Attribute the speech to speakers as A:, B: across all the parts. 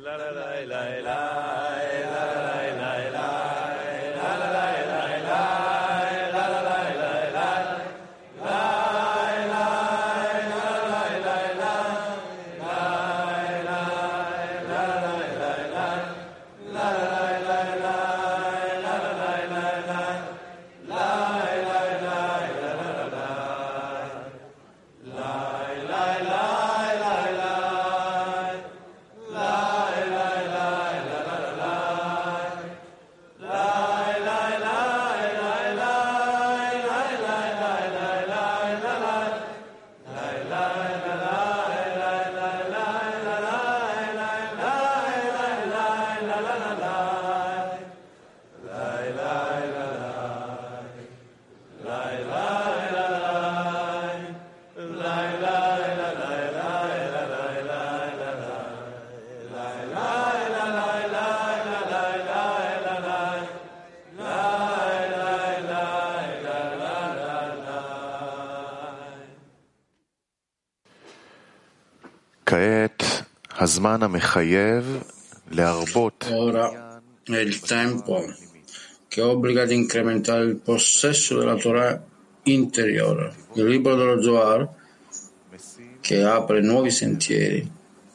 A: Ora è il tempo che obbliga ad incrementare il possesso della Torah interiore, il libro dello Zohar che apre nuovi sentieri.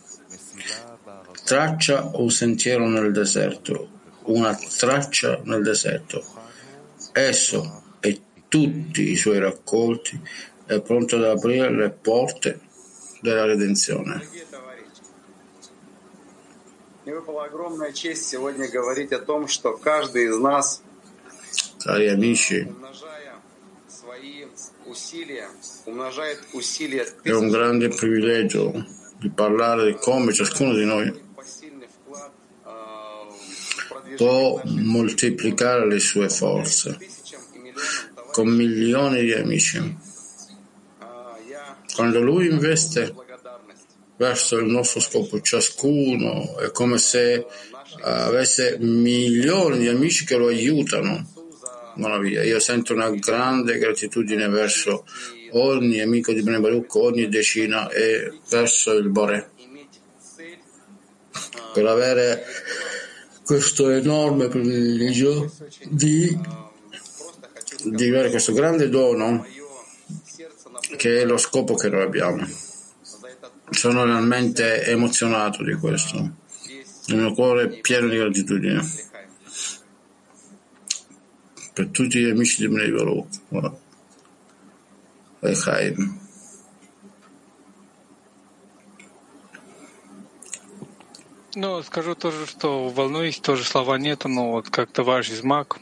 A: Traccia un sentiero nel deserto, una traccia nel deserto. Esso e tutti i suoi raccolti è pronto ad aprire le porte della redenzione. Cari amici, è un grande privilegio di parlare di come ciascuno di noi può moltiplicare le sue forze con milioni di amici. Quando lui investe verso il nostro scopo, ciascuno è come se avesse milioni di amici che lo aiutano. Io sento una grande gratitudine verso ogni amico di Bnei Baruch, ogni decina e verso il Boré per avere questo enorme privilegio di avere questo grande dono che è lo scopo che noi abbiamo. Sono realmente emozionato di questo, il mio cuore è pieno di gratitudine per tutti gli amici di Bnei Baruch e Chaim.
B: Ну, скажу тоже, что волнуюсь, тоже слова нету, но вот как товарищ из МАК.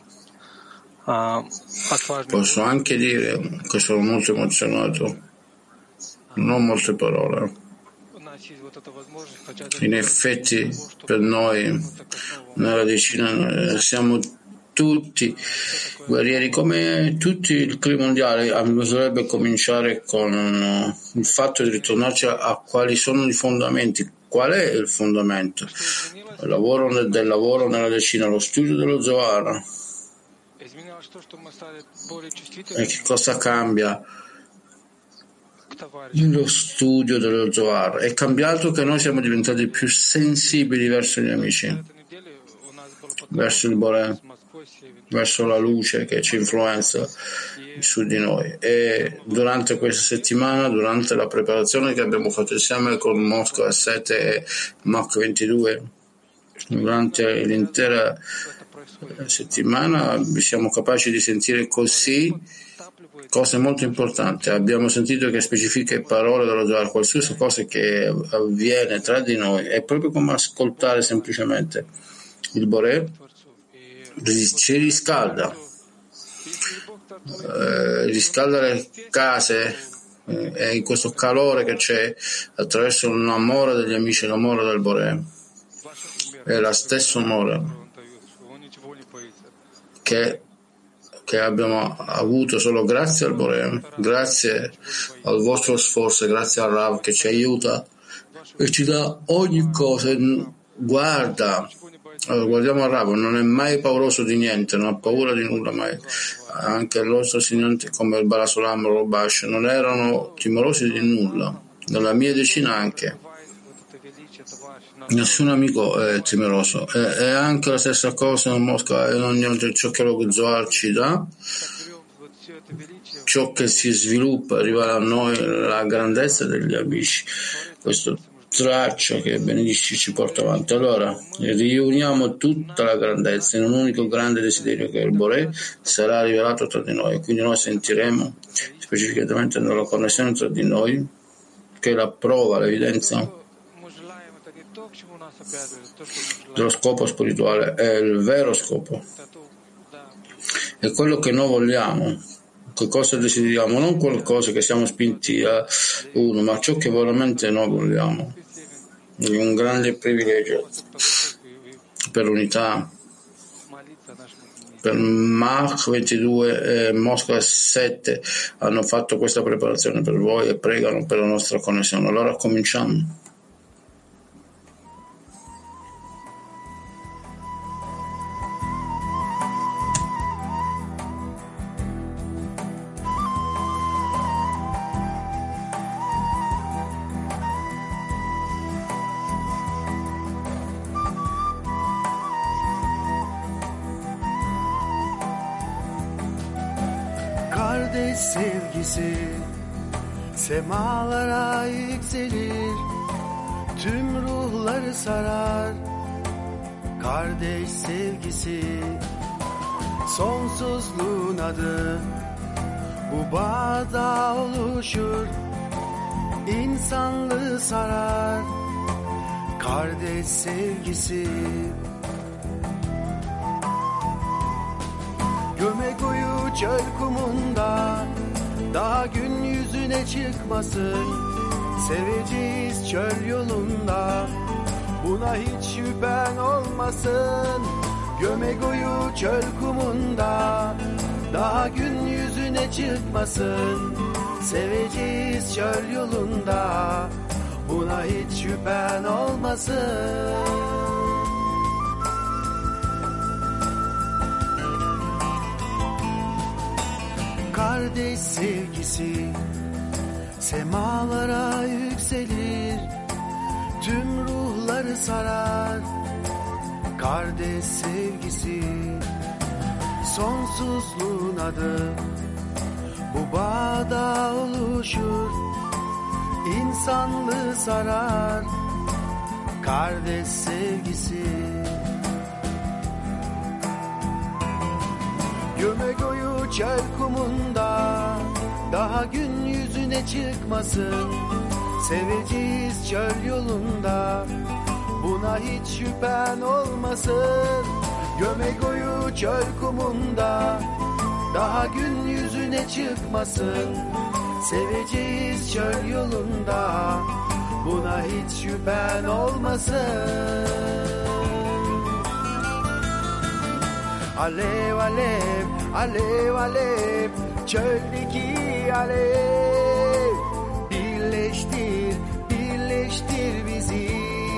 A: Posso anche dire che sono molto emozionato, non ho molte parole. In effetti, per noi, nella decina, siamo tutti guerrieri, come tutti il clima mondiale. Bisognerebbe cominciare con il fatto di ritornarci a quali sono i fondamenti. Qual è il fondamento? Il lavoro del lavoro nella decina, lo studio dello Zohar. E che cosa cambia nello studio dello Zohar? È cambiato che noi siamo diventati più sensibili verso gli amici, verso il Boré, verso la luce che ci influenza su di noi. E durante questa settimana, durante la preparazione che abbiamo fatto insieme con Mosca 7 e Mach 22, durante l'intera settimana siamo capaci di sentire così cose molto importanti. Abbiamo sentito che specifiche parole dello Zohar, qualsiasi cosa che avviene tra di noi è proprio come ascoltare semplicemente il Boré, ci riscalda le case e in questo calore che c'è attraverso l'amore degli amici, l'amore del Boré è lo stesso amore che abbiamo avuto solo grazie al Boré, grazie al vostro sforzo, grazie al Rav che ci aiuta e ci dà ogni cosa. Guardiamo al Rav, non è mai pauroso di niente, non ha paura di nulla mai. Anche il nostro insegnante come il Balasolam Robash non erano timorosi di nulla, nella mia decina anche. Nessun amico è temeroso. È anche la stessa cosa nel Mosca e in ogni ciò che lo Zohar ci dà, ciò che si sviluppa, arriva a noi la grandezza degli amici, questo traccio che benedici ci porta avanti. Allora, riuniamo tutta la grandezza in un unico grande desiderio che il Boré sarà rivelato tra di noi, quindi noi sentiremo specificamente nella connessione tra di noi, che è la prova, l'evidenza dello scopo spirituale, è il vero scopo, è quello che noi vogliamo, che cosa desideriamo, non qualcosa che siamo spinti a uno, ma ciò che veramente noi vogliamo. È un grande privilegio per l'unità, per Mach 22 e Mosca 7 hanno fatto questa preparazione per voi e pregano per la nostra connessione. Allora cominciamo.
C: Kardeş sevgisi semalara yükselir, tüm ruhları sarar. Kardeş sevgisi sonsuzluğun adı, bu bağda oluşur, insanlığı sarar. Kardeş sevgisi Gömekoyu çöl kumunda daha gün yüzüne çıkmasın. Seveceğiz çöl yolunda, buna hiç şüphen olmasın. Gömekoyu çöl kumunda daha gün yüzüne çıkmasın. Seveceğiz çöl yolunda, buna hiç şüphen olmasın. Kardeş sevgisi semalara yükselir, tüm ruhları sarar. Kardeş sevgisi sonsuzluğun adı, bu bağda oluşur, insanlığı sarar. Kardeş sevgisi Gömekoyu çöl kumunda daha gün yüzüne çıkmasın. Seveceğiz çöl yolunda, buna hiç şüphen olmasın. Gömekoyu çöl kumunda daha gün yüzüne çıkmasın. Seveceğiz çöl yolunda, buna hiç şüphen olmasın. Alev alev, alev alev, çöldeki alev. Birleştir, birleştir bizi.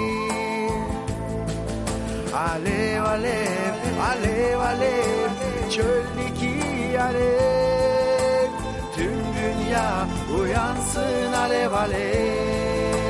C: Alev alev, alev alev, çöldeki alev. Tüm dünya uyansın alev alev.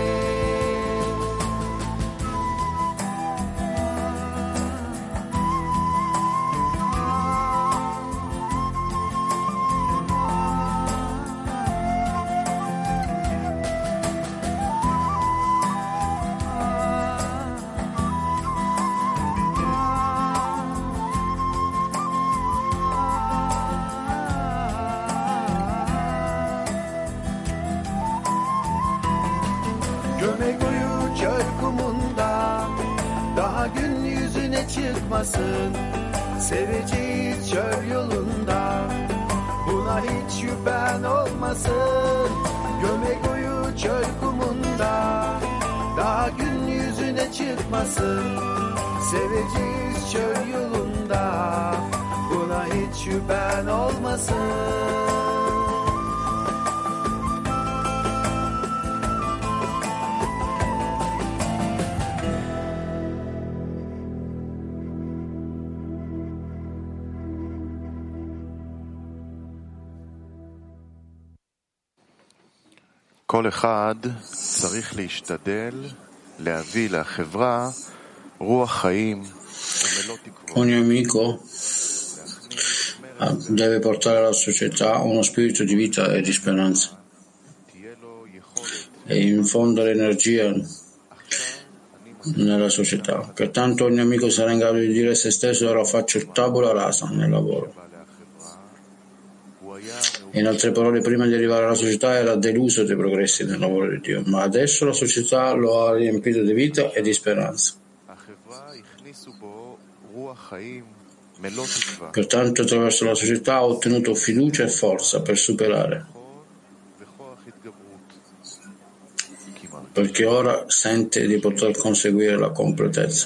C: Gömekoyu çöl kumunda daha gün yüzüne çıkmasın. Seveceğiz çöl yolunda, buna hiç şüphen olmasın. Gömekoyu çöl kumunda daha gün yüzüne çıkmasın. Seveceğiz çöl yolunda, buna hiç şüphen olmasın.
D: כל אחד צריך להשתדל
A: Ogni amico deve portare alla società uno spirito di vita e di speranza e infondere energia nella società. Pertanto ogni amico sarà in grado di dire a se stesso: ora faccio il tabula rasa nel lavoro. In altre parole, prima di arrivare alla società era deluso dei progressi nel lavoro di Dio, ma adesso la società lo ha riempito di vita e di speranza. Pertanto attraverso la società ha ottenuto fiducia e forza per superare, perché ora sente di poter conseguire la completezza.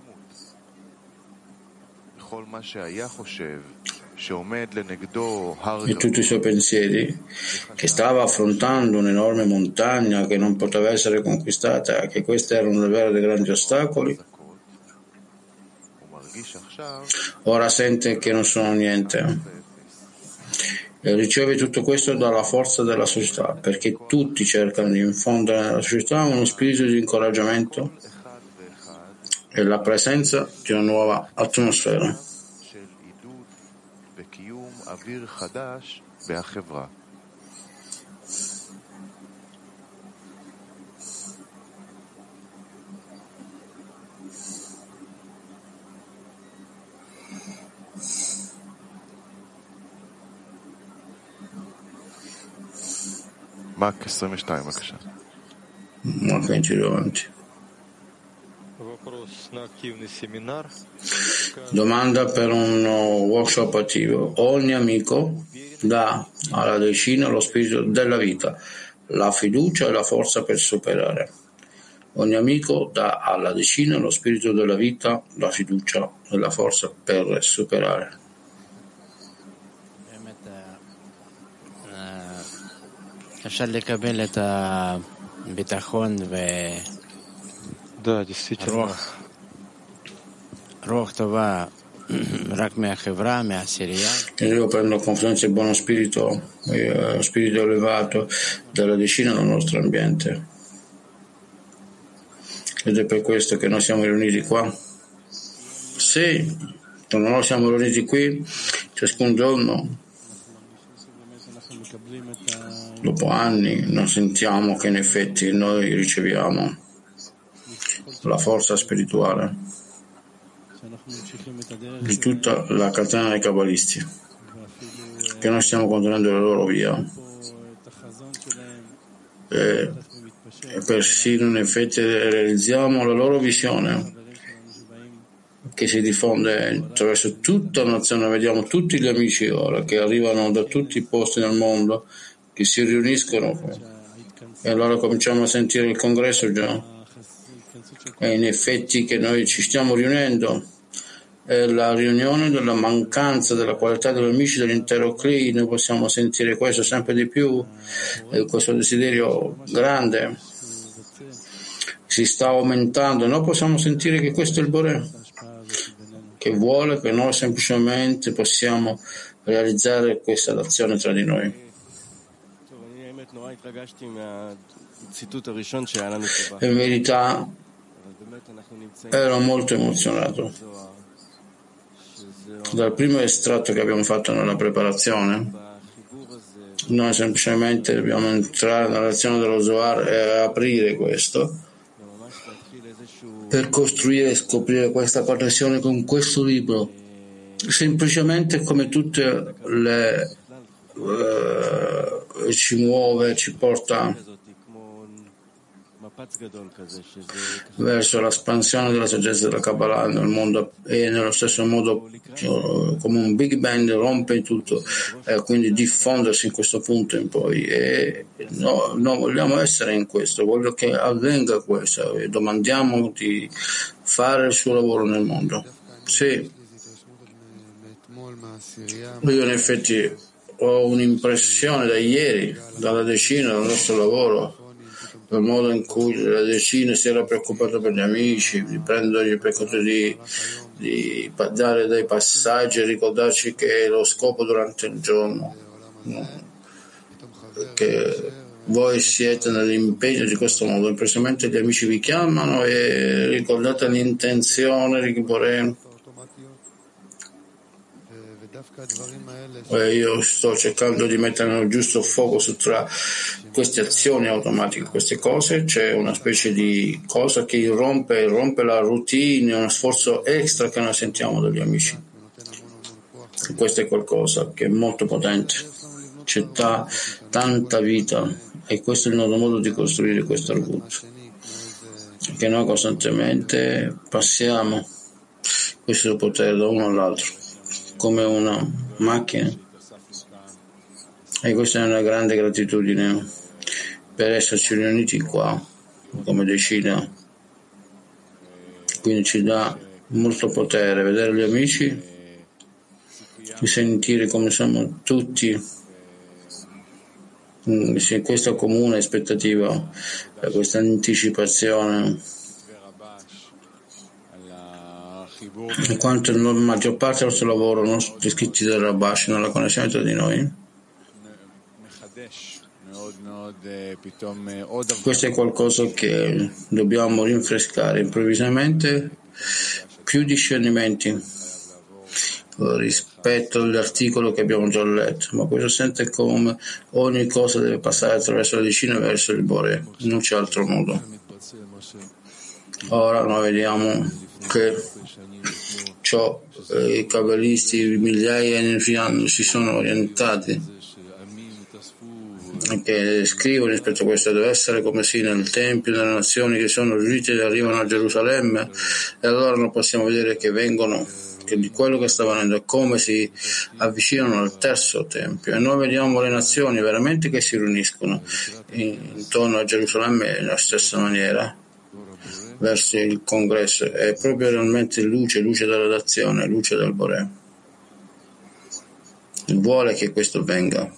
A: E tutti i suoi pensieri, che stava affrontando un'enorme montagna che non poteva essere conquistata, che questi erano davvero dei grandi ostacoli, ora sente che non sono niente e riceve tutto questo dalla forza della società, perché tutti cercano di infondere nella società uno spirito di incoraggiamento e la presenza di una nuova atmosfera.
D: Mark 22, בבקשה.
A: Mark 22 avanti. Domanda per un workshop attivo. Ogni amico dà alla decina lo spirito della vita, la fiducia e la forza per superare. Ogni amico dà alla decina lo spirito della vita, la fiducia e la forza per superare.
E: אפשר לקבל את הביטחון ורוח טובה רק מהחברה, מהעשירייה.
A: Io prendo confidenza e buono spirito, spirito elevato della decina nel nostro ambiente. Ed è per questo che noi siamo riuniti qua. Sì, quando noi siamo riuniti qui, ciascun giorno, dopo anni, non sentiamo che in effetti noi riceviamo la forza spirituale di tutta la catena dei cabalisti, che noi stiamo contenendo la loro via e persino in effetti realizziamo la loro visione che si diffonde attraverso tutta la nazione. Vediamo tutti gli amici ora che arrivano da tutti i posti del mondo, che si riuniscono, e allora cominciamo a sentire il congresso già, e in effetti che noi ci stiamo riunendo è la riunione della mancanza della qualità degli amici dell'intero CLI. Noi possiamo sentire questo sempre di più, e questo desiderio grande si sta aumentando. Noi possiamo sentire che questo è il Boré, che vuole che noi semplicemente possiamo realizzare questa azione tra di noi. In verità ero molto emozionato dal primo estratto che abbiamo fatto nella preparazione. Noi semplicemente dobbiamo entrare nella lezione dello Zohar e aprire questo per costruire e scoprire questa connessione con questo libro, semplicemente come tutte le ci muove, ci porta verso l'espansione della saggezza della Kabbalah nel mondo, e nello stesso modo come un Big Bang rompe tutto e quindi diffondersi in questo punto in poi. E no, vogliamo essere in questo, voglio che avvenga questo e domandiamo di fare il suo lavoro nel mondo. Sì, io in effetti ho un'impressione da ieri, dalla decina del nostro lavoro, del modo in cui la decina si era preoccupata per gli amici, di prendergli per conto di dare dei passaggi e ricordarci che è lo scopo durante il giorno, che voi siete nell'impegno di questo modo, improvvisamente gli amici vi chiamano e ricordate l'intenzione di Boré. Io sto cercando di mettere nel giusto fuoco tra queste azioni automatiche, queste cose. C'è una specie di cosa che rompe la routine, uno sforzo extra che noi sentiamo dagli amici. E questo è qualcosa che è molto potente, c'è tanta vita, e questo è il nostro modo di costruire questo arbut, che noi costantemente passiamo questo potere da uno all'altro come una macchina, e questa è una grande gratitudine per esserci riuniti qua come decina. Quindi ci dà molto potere vedere gli amici e sentire come siamo tutti in questa comune aspettativa, questa anticipazione, in quanto la maggior parte del nostro lavoro non sono scritti del Rabash, nella connessione tra di noi. Questo è qualcosa che dobbiamo rinfrescare improvvisamente, più discernimenti rispetto all'articolo che abbiamo già letto, ma questo sente come ogni cosa deve passare attraverso la decina verso il Boré, non c'è altro modo. Ora noi vediamo che i cabalisti migliaia di anni si sono orientati, che scrivono rispetto a questo: deve essere come sì nel Tempio, nelle nazioni che sono riunite e arrivano a Gerusalemme, e allora noi possiamo vedere che vengono, che di quello che sta avvenendo è come si avvicinano al terzo Tempio, e noi vediamo le nazioni veramente che si riuniscono intorno a Gerusalemme nella stessa maniera verso il congresso. È proprio realmente luce della dazione, luce del Boré. Vuole che questo venga.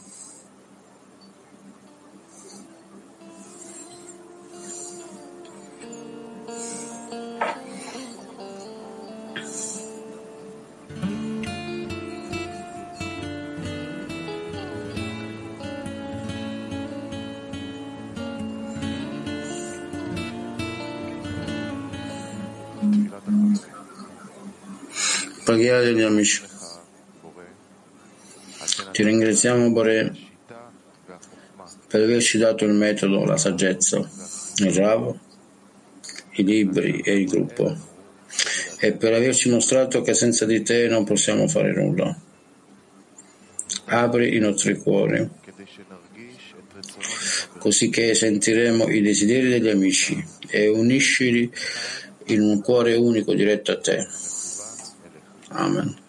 A: Preghiera degli amici. Ti ringraziamo, Boré, per averci dato il metodo, la saggezza, il Rav, i libri e il gruppo, e per averci mostrato che senza di te non possiamo fare nulla. Apri i nostri cuori, così che sentiremo i desideri degli amici, e uniscili in un cuore unico diretto a te. Amen.